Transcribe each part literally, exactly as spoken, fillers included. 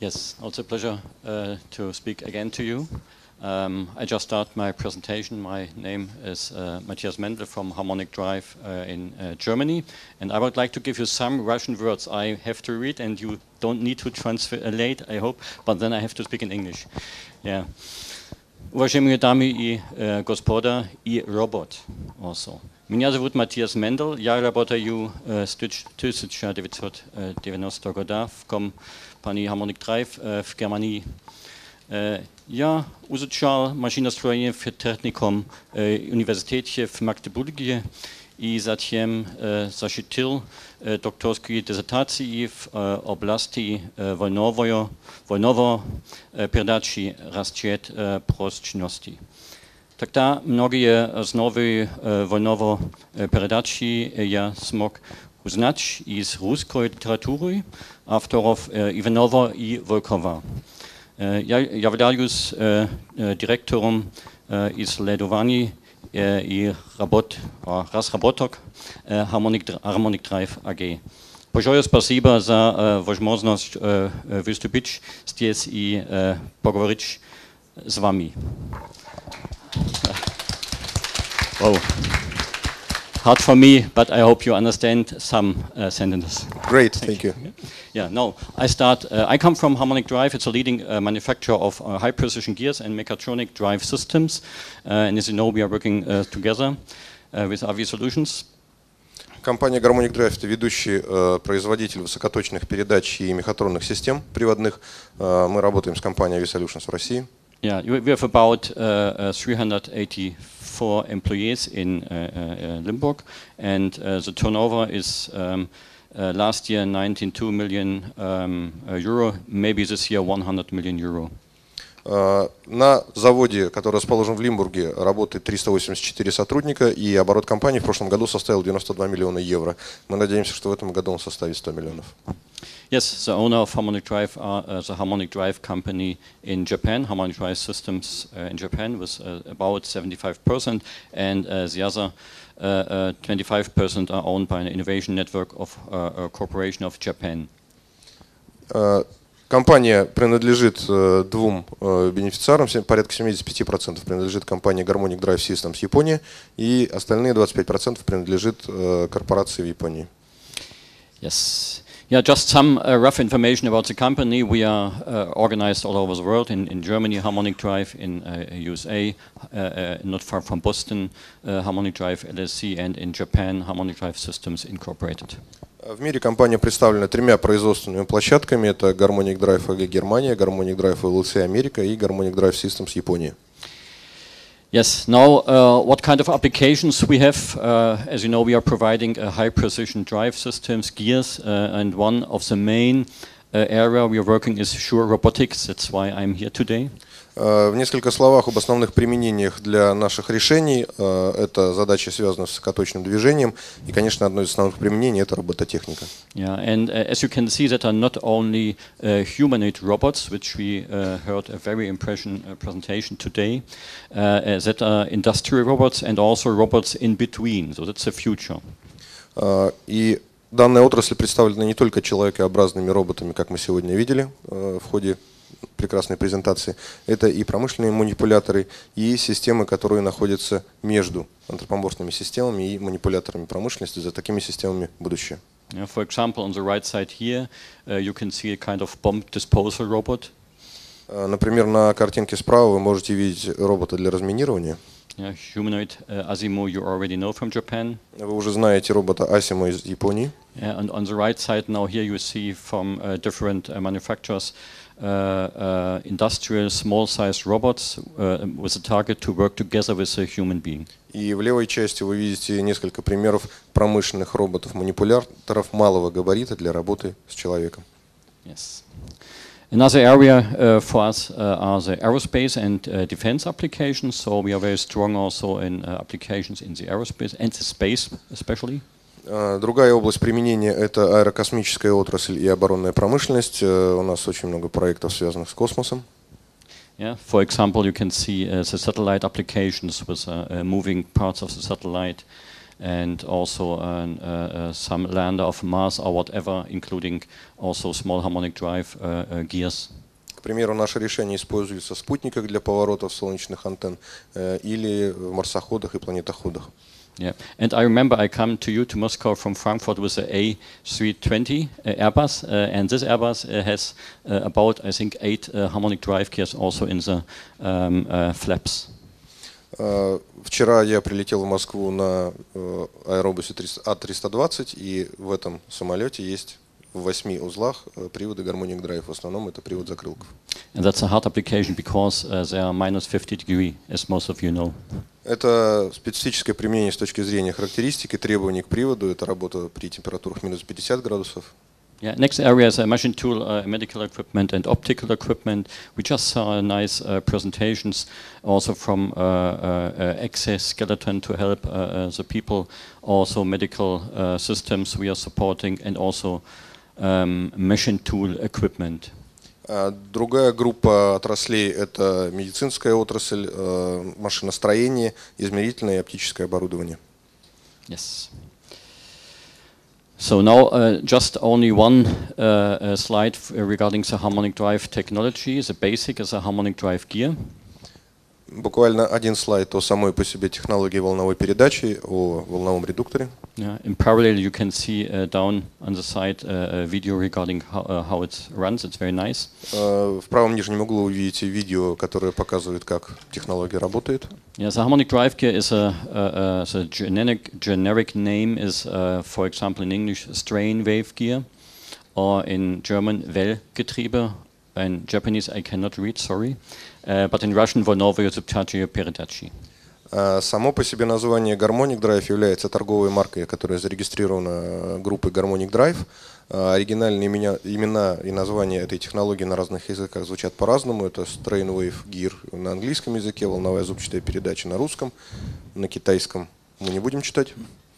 Yes, also a pleasure uh, to speak again to you. Um, I just start my presentation. My name is uh, Matthias Mendel from Harmonic Drive uh, in uh, Germany, and I would like to give you some Russian words I have to read, and you don't need to translate, I hope, but then I have to speak in English. Yeah. Уважаемые дамы и э, господа и робот also. Меня зовут Матиас Мендел, я работаю э, с тысяча девятьсот девяностого года в компании Harmonic Drive э, в Германии. Э, я изучал машиностроение в техникум э, университете в Магдебурге и затем э, защитил э, докторские диссертации в э, области э, вольновой, вольновой э, передачи расчет э, прочности. Тогда многие основы э, вольновой э, передачи я смог узнать из русской литературы авторов э, Иванова и Волкова. Э, я являюсь э, э, директором э, исследований и работ, разработок Harmonic, Harmonic Drive эй джи. Большое спасибо за возможность выступить здесь и поговорить с вами. Wow. Hard for me, but I hope you understand some uh, sentences. Great, thank you. Yeah, no, I start. Uh, I come from Harmonic Drive. It's a leading uh, manufacturer of uh, high-precision gears and mechatronic drive systems. Uh, and as you know, we are working uh, together uh, with A V Solutions. Компания Harmonic Drive – это ведущий э, производитель высокоточных передач и мехатронных систем приводных. Э, мы работаем с компанией A V Solutions в России. Yeah, we have about uh, uh, three hundred eighty-four employees in uh, uh, Limburg, and uh, the turnover is um, uh, last year ninety-two million um, uh, euro, maybe this year one hundred million euro. Uh, на заводе, который расположен в Лимбурге, работает триста восемьдесят четыре сотрудника, и оборот компании в прошлом году составил девяносто два миллиона евро. Мы надеемся, что в этом году он составит сто миллионов. Yes, the owner of Harmonic Drive are uh, the Harmonic Drive company in Japan, Harmonic Drive Systems uh, in Japan, with uh, about seventy-five percent, and uh, the other uh, uh, twenty-five percent are owned by an innovation network of uh, a corporation of Japan. Uh, Компания принадлежит э, двум э, бенефициарам, порядка семьдесят пять процентов принадлежит компании Harmonic Drive Systems Япония, и остальные двадцать пять процентов принадлежит э, корпорации в Японии. Yes. Yeah, just some uh, rough information about the company. We are uh, organized all over the world, in, in Germany, Harmonic Drive, in uh, U S A, uh, uh, not far from Boston, uh, Harmonic Drive L L C, and in Japan, Harmonic Drive Systems Incorporated. В мире компания представлена тремя производственными площадками. Это Harmonic Drive эй джи Германия, Harmonic Drive эл эл си Америка и Harmonic Drive Systems Япония. Yes, now uh, what kind of applications we have? Uh, as you know, we are providing uh, high precision drive systems, gears, uh, and one of the main uh, area we are working is Sure Robotics. That's why I'm here today. В несколько словах об основных применениях для наших решений. Это задачи, связанные с высокоточным движением, и, конечно, одно из основных применений – это робототехника. Yeah, and uh, as you can see, that are not only uh, humanoid robots, which we uh, heard a very impression uh, presentation today, uh, that are industrial robots and also robots in between. So that's the future. И данная отрасль представлена не только человекообразными роботами, как мы сегодня видели в ходе прекрасной презентации. Это и промышленные манипуляторы, и системы, которые находятся между антропоморфными системами и манипуляторами промышленности. За такими системами будущее. Yeah, for example, on the right side here, uh, you can see a kind of bomb disposal robot. Uh, например, на картинке справа вы можете видеть робота для разминирования. Yeah, humanoid uh, Asimo you already know from Japan. Вы уже знаете робота Asimo из Японии. Yeah, and on the right side now here you see from uh, different uh, manufacturers uh, uh, industrial small-sized robots uh, with a target to work together with a human being. И в левой части вы видите несколько примеров промышленных роботов-манипуляторов малого габарита для работы с человеком. Yes. Another area uh, for us uh, are the aerospace and uh, defense applications. So we are very strong also in uh, applications in the aerospace and the space especially. Другая область применения – это аэрокосмическая отрасль и оборонная промышленность. У нас очень много проектов, связанных с космосом. Yeah, for example, you can see uh, the satellite applications with uh, uh, moving parts of the satellite and also uh, uh, some lander of Mars or whatever, including also small harmonic drive uh, uh, gears. К примеру, наше решение используется в спутниках для поворотов солнечных антенн э, или в марсоходах и планетоходах. Yeah, and I remember I come to you to Moscow from Frankfurt with the A three twenty uh, Airbus, uh, and this Airbus uh, has uh, about, I think, eight uh, harmonic drive gears also in the um, uh, flaps. Uh, вчера я прилетел в Москву на uh, аэробусе А триста двадцать, и в этом самолете есть в восьми узлах uh, приводы Harmonic Drive. В основном это привод закрылков. And that's a hard application because uh, they are minus fifty degree, as most of you know. Это специфическое применение с точки зрения характеристик и требований к приводу. Это работа при температурах минус пятьдесят градусов. Yeah, next area is a machine tool, uh, medical equipment and optical equipment. We just saw nice uh, presentations also from uh, uh, uh, exoskeleton to help uh, uh, the people, also medical uh, systems we are supporting, and also um, machine tool equipment. Другая группа отраслей – это медицинская отрасль, машиностроение, измерительное и оптическое оборудование. Yes. So now uh, just only one uh, uh, slide f regarding the harmonic drive technology. The basic is a harmonic drive gear. Буквально один слайд о самой по себе технологии волновой передачи, о волновом редукторе. Yeah, in parallel, you can see uh, down on the side uh, a video regarding how, uh, how it runs. It's very nice. Uh, в правом нижнем углу вы увидите видео, которое показывает, как технология работает. Yeah, the harmonic drive gear is a, uh, uh, the generic generic name is, uh, for example, in English, strain wave gear, or in German, Wellgetriebe. In Japanese, I cannot read, sorry, uh, but in Russian, Volnovoye subtachie передачи. Само по себе название Harmonic Drive является торговой маркой, которая зарегистрирована группой Harmonic Drive. Оригинальные имена, имена и названия этой технологии на разных языках звучат по-разному. Это Strain Wave Gear на английском языке, волновая зубчатая передача на русском, на китайском мы не будем читать.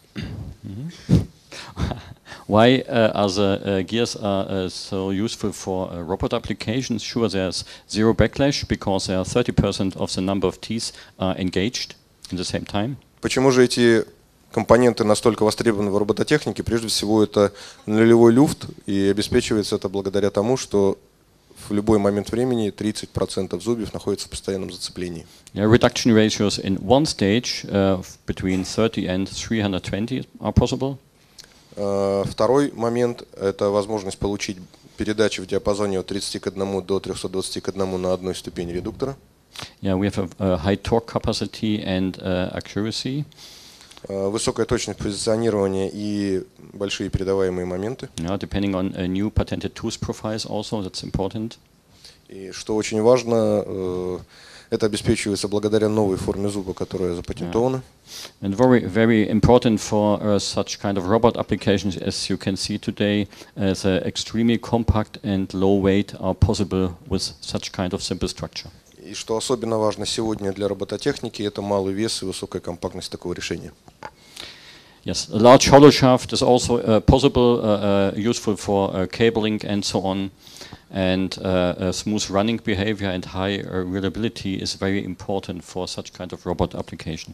Why uh, are the uh, gears are, uh, so useful for uh, robot applications? Sure, there's zero backlash because there are thirty percent of the number of teeth are engaged in the same time. Почему же эти компоненты настолько востребованы в робототехнике? Прежде всего, это нулевой люфт, и обеспечивается это благодаря тому, что в любой момент времени тридцать процентов зубьев находятся в постоянном зацеплении. Yeah, reduction ratios in one stage uh, between thirty and three hundred twenty are possible. Второй момент – это возможность получить передачи в диапазоне от тридцати к одному до трёхсот двадцати к одному на одной ступени редуктора. Yeah, we have a, a high torque capacity and uh, accuracy. Высокая точность позиционирования и большие передаваемые моменты. Yeah, depending on a new patented tooth profiles also, that's important. И что очень важно, это обеспечивается благодаря новой форме зуба, которая запатентована. And very, very important for uh, such kind of robot applications, as you can see today, uh, the extremely compact and low weight are possible with such kind of simple structure. И что особенно важно сегодня для робототехники, это малый вес и высокая компактность такого решения. Yes, a large hollow shaft is also uh, possible, uh, uh, useful for uh, cabling and so on. And uh, uh, smooth running behavior and high uh, reliability is very important for such kind of robot application.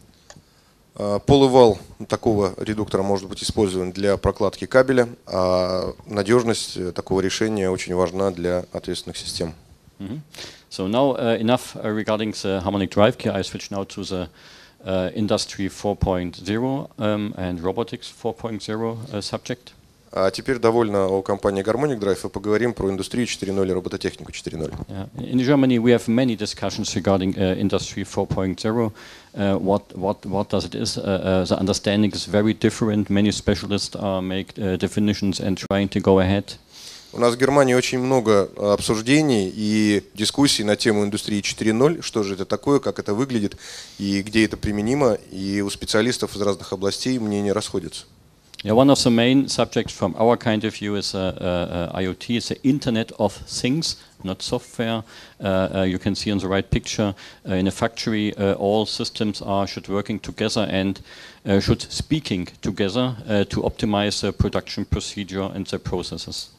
Полувал такого редуктора может быть использован для прокладки кабеля, а надежность такого решения очень важна для ответственных систем. Mm-hmm. So now uh, enough uh, regarding the harmonic drive gear. I switch now to the uh, Industry four point oh um, and Robotics four point oh uh, subject. А теперь довольно о компании Harmonic Drive и поговорим про индустрию четыре ноль и робототехнику четыре ноль. Yeah. In Germany, we have many discussions regarding uh, Industry four point oh. Uh, what what what does it is? Uh, uh, the understanding is very different. Many specialists are make uh, definitions and trying to go ahead. У нас в Германии очень много обсуждений и дискуссий на тему индустрии четыре ноль, что же это такое, как это выглядит и где это применимо. И у специалистов из разных областей мнения расходятся. Yeah, one of the main subjects from our kind of view is uh, uh, uh, IoT. It's the Internet of Things, not software. Uh, uh, you can see on the right picture uh, in a factory, uh, all systems are should working together and uh, should speaking together uh, to optimize the production procedure and the processes.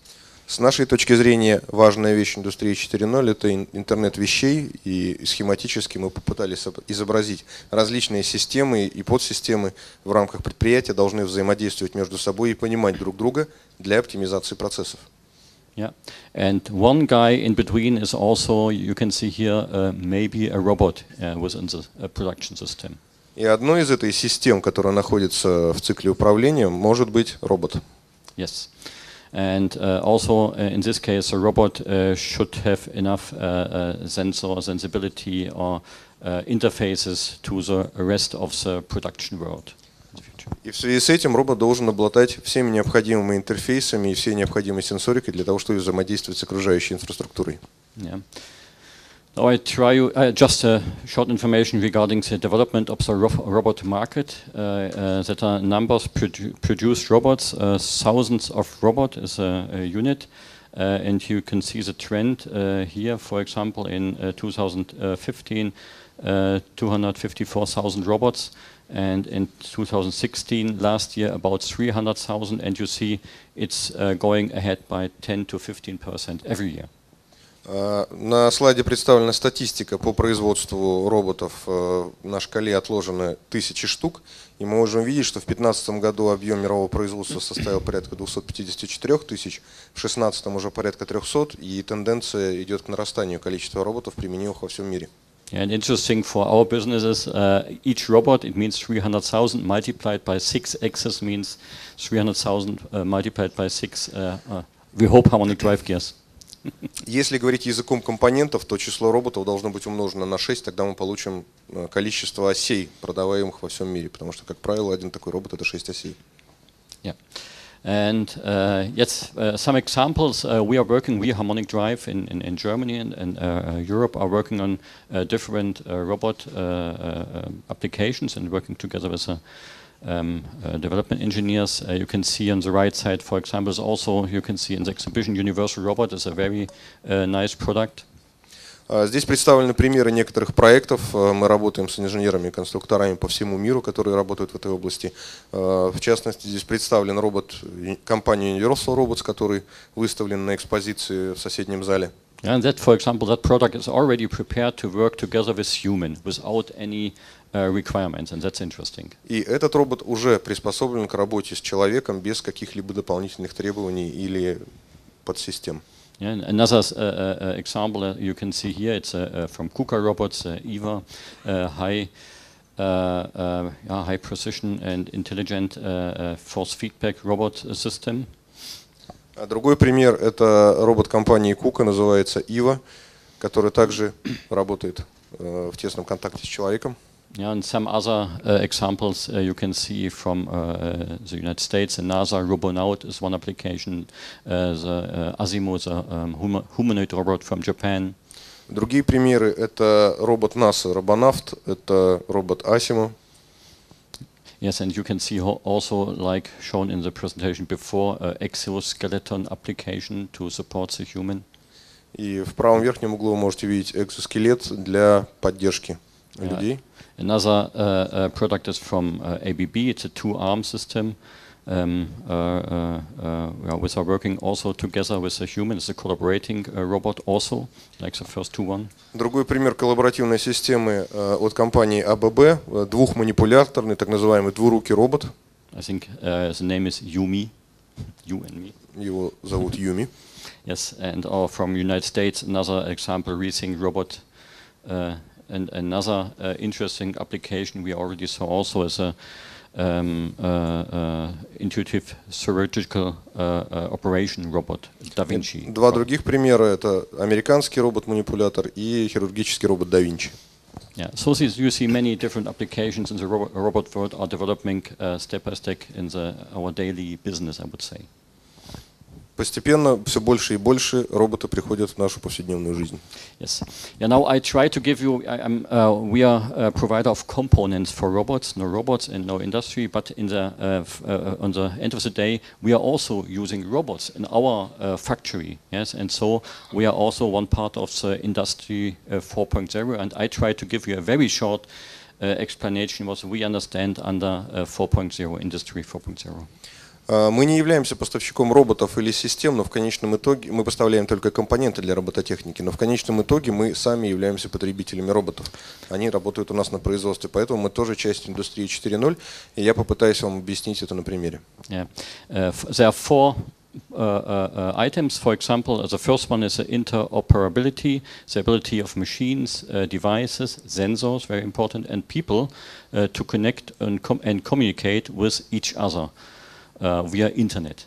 С нашей точки зрения, важная вещь индустрии четыре ноль – это интернет вещей, и схематически мы попытались изобразить различные системы и подсистемы в рамках предприятия должны взаимодействовать между собой и понимать друг друга для оптимизации процессов. Yeah, and one guy in between is also, you can see here, uh, maybe a robot uh, within the uh, production system. И одной из этой систем, которая находится в цикле управления, может быть робот. Yes. And uh, also uh, in this case, a robot uh, should have enough uh, uh, sensor sensibility or uh, interfaces to the rest of the production world in the future. И в связи с этим робот должен обладать всеми необходимыми интерфейсами и всей необходимой сенсорикой для того, чтобы взаимодействовать с окружающей инфраструктурой. Yeah. Now I try you uh, just a short information regarding the development of the ro robot market. Uh, uh, that are numbers produ produced robots, uh, thousands of robots is a, a unit, uh, and you can see the trend uh, here. For example, in uh, two thousand fifteen, uh, two hundred fifty-four thousand robots, and in two thousand sixteen, last year, about three hundred thousand. And you see it's uh, going ahead by ten to fifteen percent every year. На слайде представлена статистика по производству роботов. На шкале отложены тысячи штук. И мы можем видеть, что в две тысячи пятнадцатом году объем мирового производства составил порядка двухсот пятидесяти четырёх тысяч, в две тысячи шестнадцатом уже порядка трёхсот, и тенденция идет к нарастанию количества роботов, применимых во всем мире. And interesting for our businesses, uh, each robot, it means three hundred thousand multiplied by six axes means three hundred thousand uh, multiplied by six, uh, uh, we hope, harmonic drive gears. Если говорить языком компонентов, то число роботов должно быть умножено на шесть, тогда мы получим количество осей, продаваемых во всем мире, потому что, как правило, один такой робот – это шесть осей. Yeah. And uh, yes, uh, some examples. Uh, we are working, we Harmonic Drive in, in, in Germany and, and uh, Europe are working on uh, different uh, robot uh, uh, applications and working together with a Um, uh, development engineers. Uh, you can see on the right side, for example, is also you can see in the exhibition Universal Robot is a very uh, nice product. Здесь представлены примеры некоторых проектов. Мы работаем с инженерами и конструкторами по всему миру, которые работают в этой области. В частности, здесь представлен робот компании Universal Robots, который выставлен на экспозиции в соседнем зале. And that, for example, that product is already prepared to work together with human without any uh, requirements, and that's interesting. И этот робот уже приспособлен к работе с человеком без каких-либо дополнительных требований или подсистем. Yeah, another uh, uh, example uh, you can see here, it's uh, uh, from KUKA Robots, uh, EVA, uh, high, uh, uh, yeah, high precision and intelligent uh, uh, force feedback robot system. А другой пример – это робот компании KUKA, называется ИВА, который также работает э, в тесном контакте с человеком. Yeah, and some other uh, examples uh, you can see from uh, the United States. The NASA Robonaut is one application. Uh, the uh, Asimo is a um, hum humanoid robot from Japan. Другие примеры – это робот НАСА Робонавт, это робот Asimo. Yes, and you can see also, like shown in the presentation before, uh, exoskeleton application to support the human. И в правом верхнем углу вы можете видеть экзоскелет для поддержки yeah. людей. Another uh, uh, product is from uh, A B B. It's a two-arm system. Um, uh, uh, uh, well, we are working also together with a human. It's a collaborating uh, robot also, like the first two one. Другой пример коллаборативной системы uh, от компании А Б Б, uh, двухманипуляторный, так называемый двурукий робот. I think uh, the name is Yumi. You and me. Его зовут Юми. Yes, and or from United States, another example, Rethink Robot. Uh, and another uh, interesting application we already saw also is a um, uh, uh, intuitive surgical uh, uh, operation robot, Da Vinci. Два других примера – это американский робот-манипулятор и хирургический робот Да Винчи. Yeah, so you see many different applications in the robot, robot world are developing uh, step by step in the, our daily business, I would say. Постепенно все больше и больше роботы приходят в нашу повседневную жизнь. Yes. Yeah. Now I try to give you. I, I'm, uh, we are a provider of components for robots. No robots and no industry. But in the uh, f uh, on the end of the day, we are also using robots in our uh, factory. Yes, and so we are also one part of the industry uh, four point oh. And I try to give you a very short uh, explanation what we understand under uh, four point oh, industry four point oh. Мы не являемся поставщиком роботов или систем, но в конечном итоге мы поставляем только компоненты для робототехники, но в конечном итоге мы сами являемся потребителями роботов. Они работают у нас на производстве, поэтому мы тоже часть индустрии четыре ноль, и я попытаюсь вам объяснить это на примере. Yeah. Uh, there are four uh, uh, items. For example, the first one is the interoperability, the ability of machines, uh, devices, sensors, very important, and people uh, to connect and, com and communicate with each other. Uh, via Internet.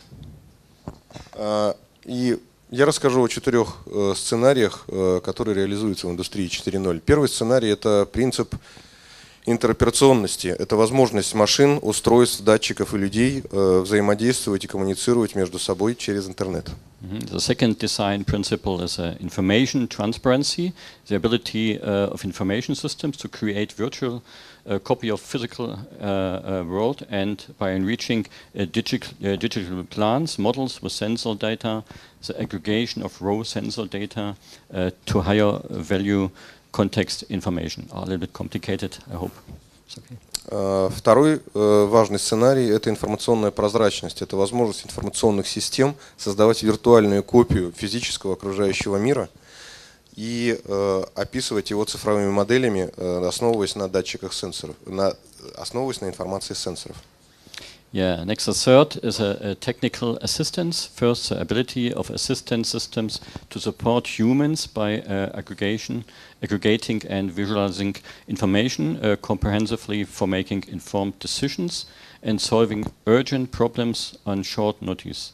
Uh, и я расскажу о четырех uh, сценариях, uh, которые реализуются в индустрии четыре ноль. Первый сценарий – это принцип интероперационности. Это возможность машин, устройств, датчиков и людей uh, взаимодействовать и коммуницировать между собой через интернет. Mm-hmm. The second design principle is uh, information transparency, the ability uh, of information systems to create virtual a copy of physical uh, uh, world, and by enriching uh, digital, uh, digital plans, models with sensor data, the aggregation of raw sensor data uh, to higher value context information. A little bit complicated, I hope. It's okay. Второй важный сценарий – это информационная прозрачность. Это возможность информационных систем создавать виртуальную копию физического окружающего мира и э, описывать его цифровыми моделями, э, основываясь на датчиках сенсоров, на, основываясь на информации сенсоров. Yeah, next, the third is a, a technical assistance. First, the ability of assistance systems to support humans by uh, aggregation, aggregating and visualizing information uh, comprehensively for making informed decisions and solving urgent problems on short notice.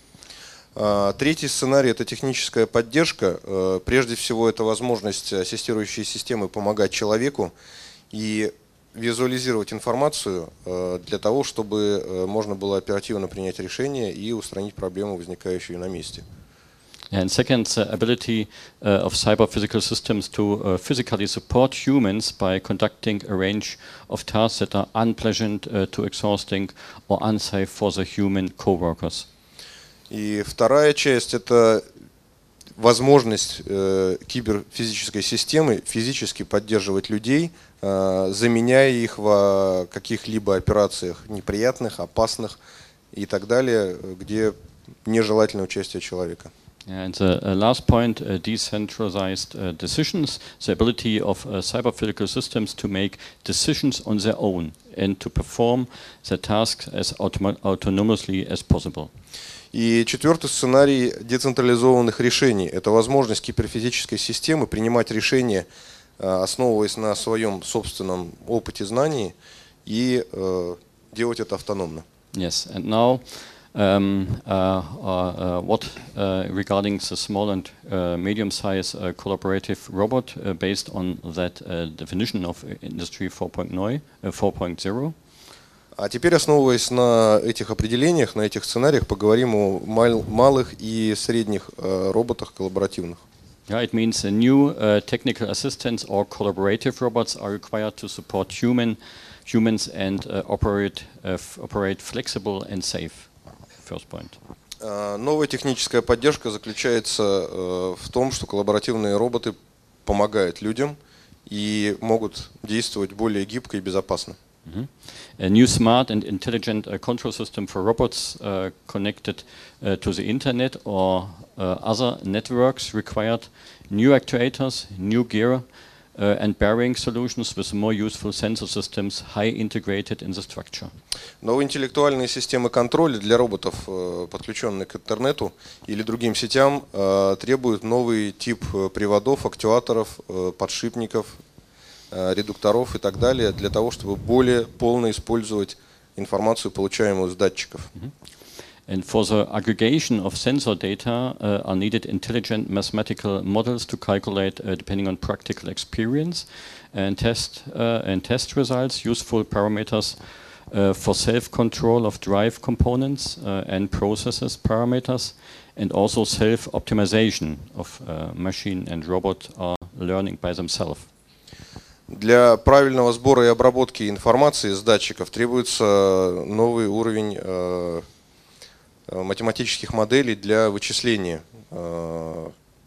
Третий сценарий – это техническая поддержка. Прежде всего, это возможность ассистирующей системы помогать человеку и визуализировать информацию для того, чтобы можно было оперативно принять решение и устранить проблему, возникающую на месте. And second, the ability uh, of cyber-physical systems to uh, physically support humans by conducting a range of tasks that are unpleasant, uh, too exhausting or unsafe for the human co-workers. И вторая часть – это возможность э, киберфизической системы физически поддерживать людей, э, заменяя их в каких-либо операциях неприятных, опасных и так далее, где нежелательное участие человека. And the uh, last point, uh, decentralized uh, decisions, the ability of uh, cyber-physical systems to make decisions on their own and to perform the tasks as autom autonomously as possible. И четвертый сценарий децентрализованных решений. Это возможность киберфизической системы принимать решения, основываясь на своем собственном опыте, знании, и э, делать это автономно. Yes, and now um, uh, uh, what uh, regarding the small and uh, medium-sized uh, collaborative robot uh, based on that uh, definition of Industry four point zero. А теперь, основываясь на этих определениях, на этих сценариях, поговорим о мал малых и средних э, роботах коллаборативных. Yeah, it means a new uh, technical assistants or collaborative robots are required to support human humans and uh, operate uh, f operate flexible and safe. First point. Uh, новая техническая поддержка заключается uh, в том, что коллаборативные роботы помогают людям и могут действовать более гибко и безопасно. Mm-hmm. A new smart and intelligent uh, control system for robots uh, connected uh, to the internet or uh, other networks required new actuators, new gear uh, and bearing solutions with more useful sensor systems high integrated in the structure. Новые интеллектуальные системы контроля для роботов, подключенных к интернету или другим сетям, требуют новый тип приводов, актуаторов, подшипников, редукторов и так далее, для того, чтобы более полно использовать информацию, получаемую с датчиков. And for the aggregation of sensor data uh, are needed intelligent mathematical models to calculate, uh, depending on practical experience, and test uh, and test results, useful parameters uh, for self-control of drive components uh, and processes parameters, and also self-optimization of uh, machine and robot are learning by themselves. Для правильного сбора и обработки информации с датчиков требуется новый уровень э, математических моделей для вычисления, э,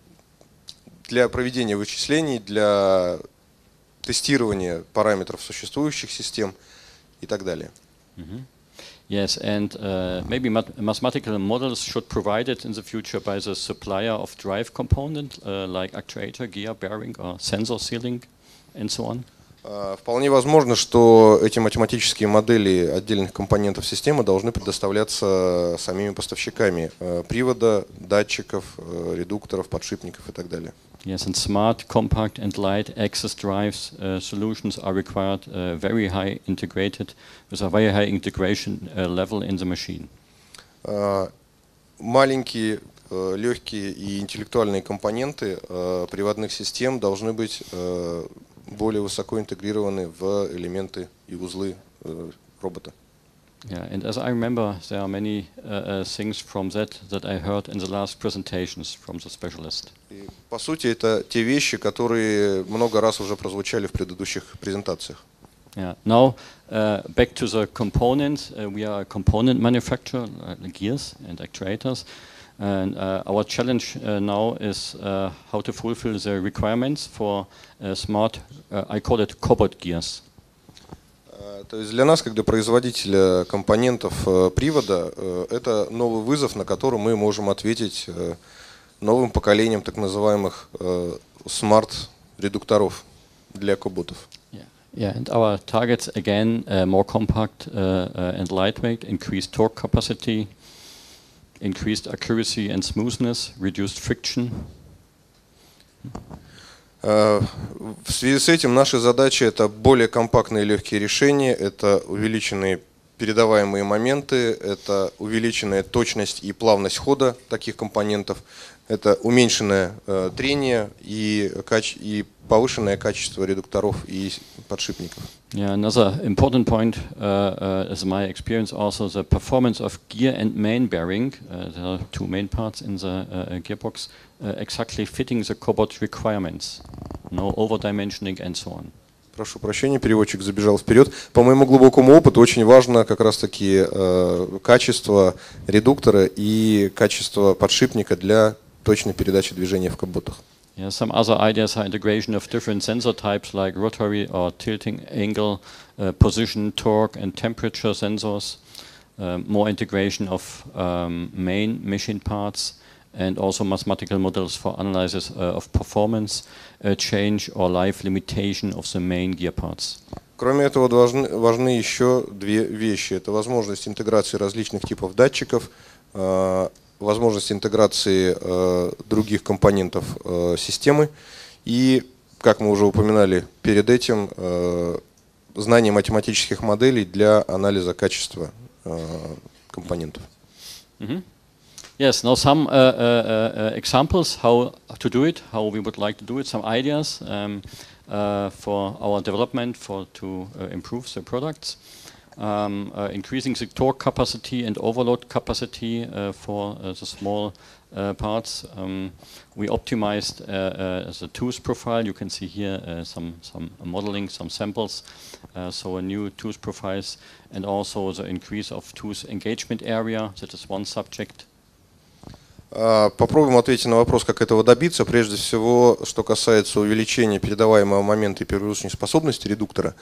для проведения вычислений, для тестирования параметров существующих систем и так далее. Mm-hmm. Yes, and uh, maybe mat mathematical models should provide it in the future by the supplier of drive component, uh, like actuator, gear, bearing, or sensor sealing, and so on. Вполне возможно, что эти математические модели отдельных компонентов системы должны предоставляться самими поставщиками привода, датчиков, редукторов, подшипников и так далее. Yes, and smart, compact, and light access drives uh, solutions are required, uh, very high integrated, with a very high integration uh, level in the machine. Uh, маленькие, uh, легкие и интеллектуальные компоненты uh, приводных систем должны быть uh, более высоко интегрированы в элементы и узлы uh, робота. Yeah, and as I remember, there are many uh, uh, things from that that I heard in the last presentations from the specialist. И, по сути, это те вещи, которые много раз уже прозвучали в предыдущих презентациях. Yeah. Now, uh, back to the components. Uh, we are a component manufacturer, uh, gears and actuators, and uh, our challenge uh, now is uh, how to fulfill the requirements for uh, smart. Uh, I call it cobot gears. То есть для нас, как для производителя компонентов привода, это новый вызов, на который мы можем ответить новым поколением так называемых смарт-редукторов для коботов. Yeah. Yeah, and our targets again uh, more compact uh, uh, and lightweight, increased torque capacity, increased accuracy and smoothness, reduced friction. В связи с этим наши задачи — это более компактные и легкие решения, это увеличенные передаваемые моменты, это увеличенная точность и плавность хода таких компонентов, это уменьшенное э, трение и, и повышенное качество редукторов и подшипников. Yeah, another important point uh, uh, is my experience also the performance of gear and main bearing. Uh, there are two main parts in the uh, gearbox, uh, exactly fitting the cobot requirements, no over-dimensioning and so on. Прошу прощения, переводчик забежал вперед. По моему глубокому опыту очень важно как раз-таки э, качество редуктора и качество подшипника для точной передачи движения в коботах. Yeah, some other ideas are integration of different sensor types like rotary or tilting angle, uh, position, torque and temperature sensors, uh, more integration of um, main machine parts, and also mathematical models for analysis uh, of performance uh, change or life limitation of the main gear parts. Кроме этого, важны, важны еще две вещи. Это возможность интеграции различных типов датчиков, э, возможность интеграции э, других компонентов э, системы и, как мы уже упоминали перед этим, э, знание математических моделей для анализа качества э, компонентов. Mm-hmm. Yes, now some uh, uh, uh, examples how to do it, how we would like to do it, some ideas um, uh, for our development for to uh, improve the products. Um, uh, increasing the torque capacity and overload capacity uh, for uh, the small uh, parts. Um, we optimized uh, uh, the tooth profile. You can see here uh, some, some modeling, some samples. Uh, so a new tooth profiles and also the increase of tooth engagement area. That is one subject. Попробуем ответить на вопрос, как этого добиться. Прежде всего, что касается увеличения передаваемого момента и перегрузочной способности редуктора,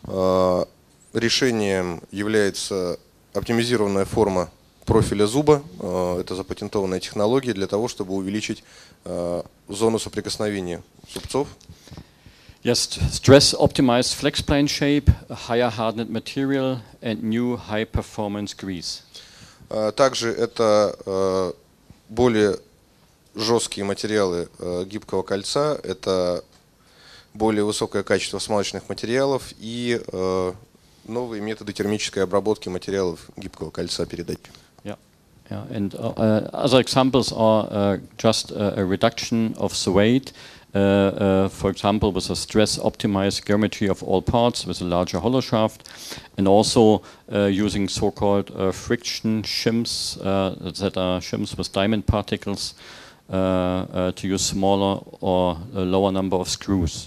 решением является оптимизированная форма профиля зуба. Это запатентованная технология для того, чтобы увеличить зону соприкосновения зубцов. Yes, stress optimized flex plane shape, a higher hardened material and new high performance grease. Также это более жесткие материалы гибкого кольца, это более высокое качество смазочных материалов и новые методы термической обработки материалов гибкого кольца передачи. Yeah, yeah, and uh, other examples are uh, just uh, a reduction of the weight. Uh, uh, for example, with a stress-optimized geometry of all parts with a larger hollow shaft, and also uh, using so-called uh, friction shims uh, that are shims with diamond particles uh, uh, to use smaller or a lower number of screws.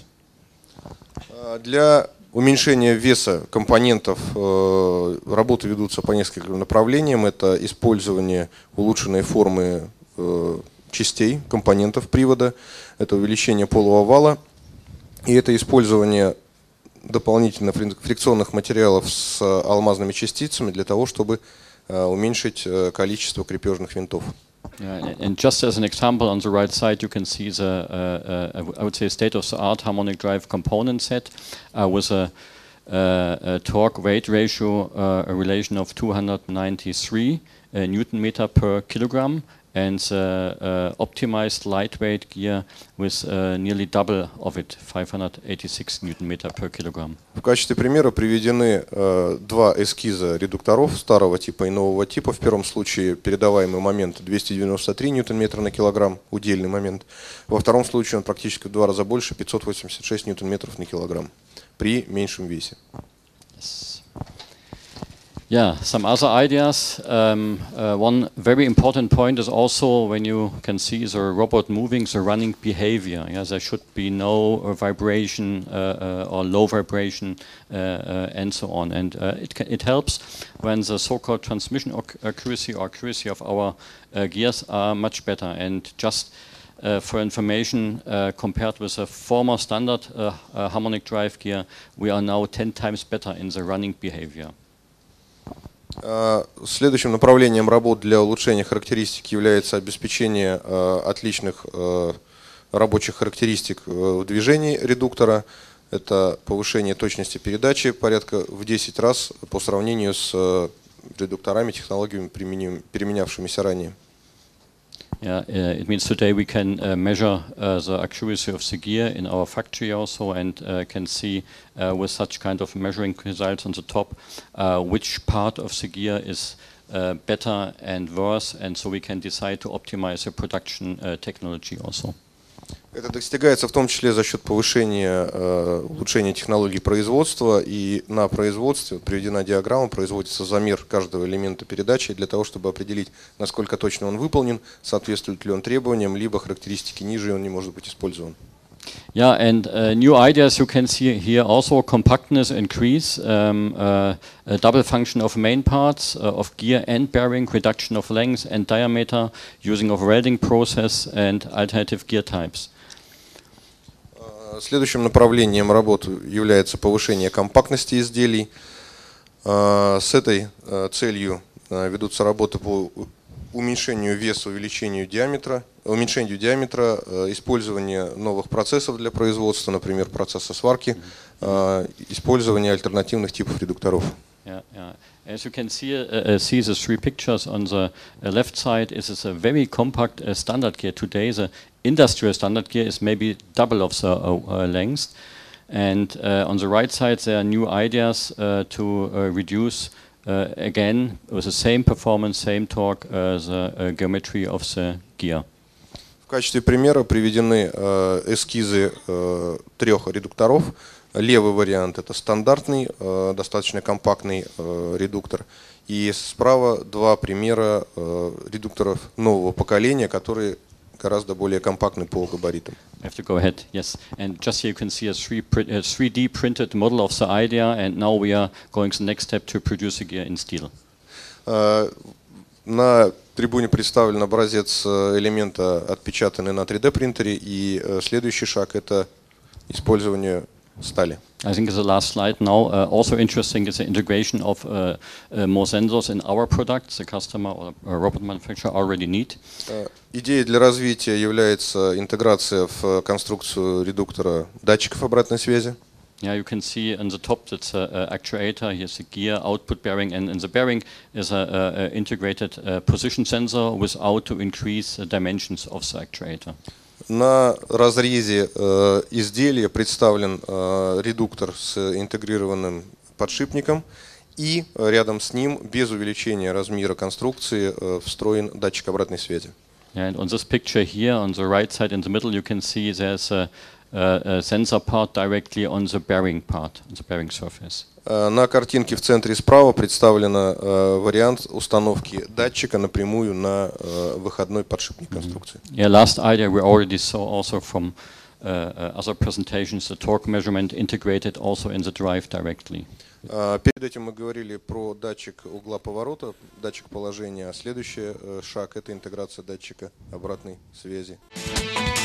Для уменьшения веса компонентов э, работы ведутся по нескольким направлениям. Это использование улучшенной формы э, частей, компонентов привода, это увеличение полого вала и это использование дополнительно фрикционных материалов с алмазными частицами для того, чтобы уменьшить количество крепежных винтов. Yeah, and just as an example, on the right side you can see the, uh, uh, I would say, state-of-the-art harmonic drive component set uh, with a, uh, a torque-weight ratio, uh, a relation of two hundred ninety-three uh, Newton meter per kilogram, and the uh, optimized lightweight gear with uh, nearly double of it, five hundred eighty-six Newton meter per kilogram. В качестве примера приведены э, два эскиза редукторов старого типа и нового типа. В первом случае передаваемый момент двести девяносто три Ньютон метра на килограмм, удельный момент. Во втором случае он практически в два раза больше, пятьсот восемьдесят шесть Ньютон метров на килограмм, при меньшем весе. Yes. Yeah, some other ideas. Um, uh, one very important point is also when you can see the robot moving, the running behavior. Yeah, there should be no uh, vibration uh, uh, or low vibration uh, uh, and so on. And uh, it, it helps when the so-called transmission accuracy or accuracy of our uh, gears are much better. And just Uh, for information, uh, compared with a former standard uh, uh, harmonic drive gear, we are now ten times better in the running behavior. Следующим направлением работ для улучшения характеристик является обеспечение отличных рабочих характеристик в движении редуктора. Это повышение точности передачи порядка в десять раз по сравнению с редукторами, технологиями, применявшимися ранее. Yeah, uh, it means today we can uh, measure uh, the accuracy of the gear in our factory also, and uh, can see uh, with such kind of measuring results on the top uh, which part of the gear is uh, better and worse, and so we can decide to optimize the production uh, technology also. Это достигается в том числе за счет повышения, э, улучшения технологий производства, и на производстве приведена диаграмма, производится замер каждого элемента передачи для того, чтобы определить, насколько точно он выполнен, соответствует ли он требованиям, либо характеристики ниже, и он не может быть использован. Yeah, and uh, new ideas you can see here also: compactness increase, um, uh, a double function of main parts uh, of gear and bearing, reduction of length and diameter, using of welding process and alternative gear types. Следующим направлением работы является повышение компактности изделий. С этой целью ведутся работы по уменьшению веса, увеличению диаметра, уменьшению диаметра, использование новых процессов для производства, например, процесса сварки, использование альтернативных типов редукторов. Yeah, yeah. As you can see, uh, see the three pictures on the uh, left side, it is a very compact uh, standard gear. Today, the industrial standard gear is maybe double of the uh, uh, length. And uh, on the right side, there are new ideas uh, to uh, reduce, uh, again, with the same performance, same torque, uh, the uh, geometry of the gear. В качестве примера приведены э, эскизы э, трех редукторов. Левый вариант — это стандартный, э, достаточно компактный э, редуктор. И справа два примера э, редукторов нового поколения, которые гораздо более компактны по габаритам. I have to go ahead, yes. And just here you can see a three D printed model of the idea, and now we are going to the next step to produce a gear in steel. Э, на трибуне представлен образец элемента, отпечатанный на три дэ принтере, и э, следующий шаг — это использование стали. I think the last slide now. Uh, also interesting is the integration of uh, uh, more sensors in our products. The customer or uh, robot manufacturer already need. Идеей для развития является интеграция в конструкцию редуктора датчиков обратной связи. Yeah, you can see on the top that's an actuator. Here's the gear output bearing, and in the bearing is a, a integrated uh, position sensor without to increase the dimensions of the actuator. На разрезе э, изделия представлен э, редуктор с интегрированным подшипником, и рядом с ним, без увеличения размера конструкции, э, встроен датчик обратной связи. Yeah, and on this picture here, on the right side in the middle, you can see there's a, a, a sensor part directly on the bearing part, on the bearing surface. На картинке в центре справа представлен э, вариант установки датчика напрямую на э, выходной подшипник конструкции. Yeah, last idea we already saw also from uh, other presentations, the torque measurement integrated also in the drive directly. Uh, перед этим мы говорили про датчик угла поворота, датчик положения, а следующий э, шаг — это интеграция датчика обратной связи.